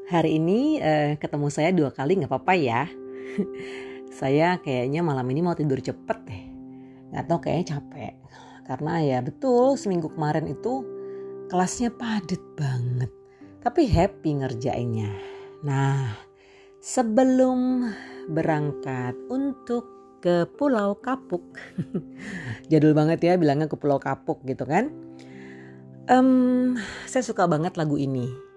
Hari ini ketemu saya 2 kali gak apa-apa ya. Saya kayaknya malam ini mau tidur cepet deh. Gak tau kayaknya capek. Karena ya betul seminggu kemarin itu kelasnya padat banget. Tapi happy ngerjainnya. Nah, sebelum berangkat untuk ke Pulau Kapuk. Jadul banget ya bilangnya ke Pulau Kapuk gitu kan. Saya suka banget lagu ini.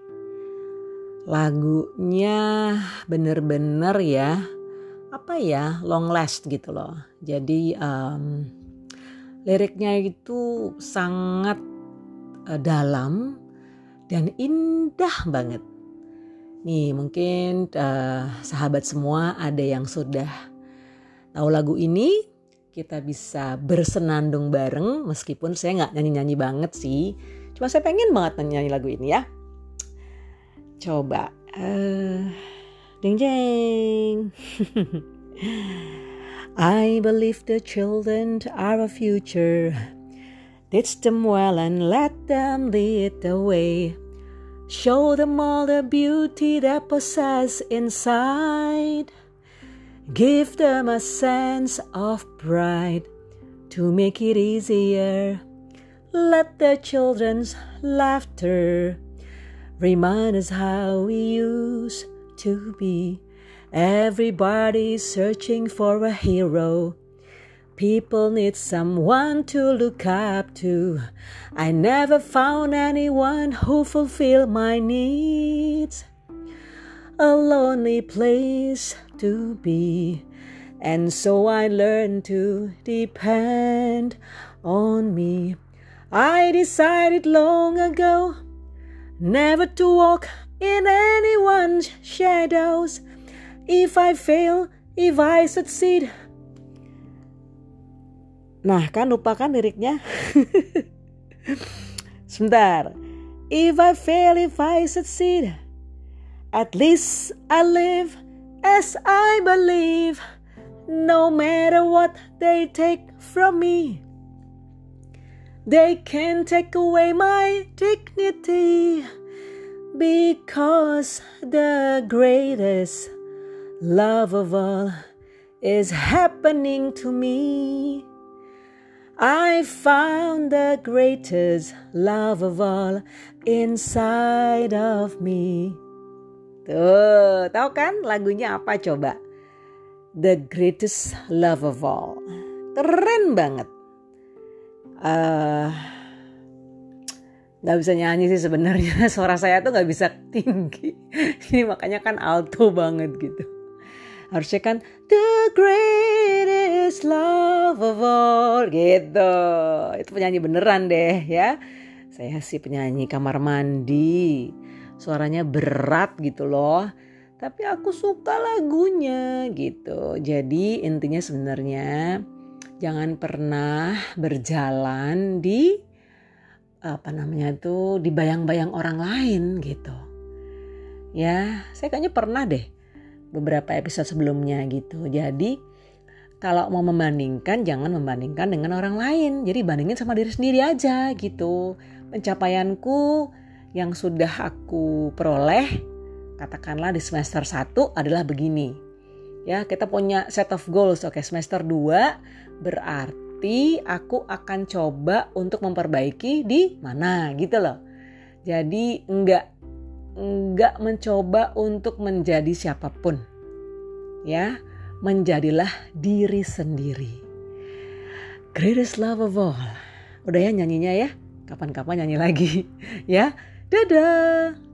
Lagunya bener-bener ya long last gitu loh. Jadi liriknya itu sangat dalam dan indah banget. Nih mungkin sahabat semua ada yang sudah tahu lagu ini, kita bisa bersenandung bareng meskipun saya gak nyanyi-nyanyi banget sih. Cuma saya pengen banget nyanyi lagu ini ya. Coba ding jeng. I believe the children are our future. Teach them well and let them lead the way. Show them all the beauty they possess inside. Give them a sense of pride to make it easier. Let the children's laughter remind us how we used to be. Everybody's searching for a hero. People need someone to look up to. I never found anyone who fulfilled my needs. A lonely place to be. And so I learned to depend on me. I decided long ago never to walk in anyone's shadows. If I fail, if I succeed. Nah kan lupa kan liriknya? Sebentar. If I fail, if I succeed. At least I live as I believe. No matter what they take from me. They can't take away my dignity, because the greatest love of all is happening to me. I found the greatest love of all inside of me. Tuh, tahu kan lagunya apa coba? The greatest love of all. Keren banget. Gak bisa nyanyi sih sebenarnya, suara saya tuh gak bisa tinggi. Ini makanya kan alto banget gitu. Harusnya kan the greatest love of all gitu. Itu penyanyi beneran deh ya. Saya sih penyanyi kamar mandi. Suaranya berat gitu loh. Tapi aku suka lagunya gitu. Jadi intinya sebenarnya jangan pernah berjalan di di bayang-bayang orang lain gitu. Ya, saya kayaknya pernah deh beberapa episode sebelumnya gitu. Jadi kalau mau membandingkan jangan membandingkan dengan orang lain. Jadi bandingin sama diri sendiri aja gitu. Pencapaianku yang sudah aku peroleh katakanlah di semester 1 adalah begini. Ya, kita punya set of goals. Oke, semester 2 berarti aku akan coba untuk memperbaiki di mana gitu loh. Jadi enggak mencoba untuk menjadi siapapun. Ya, menjadilah diri sendiri. Greatest love of all. Udah ya nyanyinya ya. Kapan-kapan nyanyi lagi. Ya, dadah.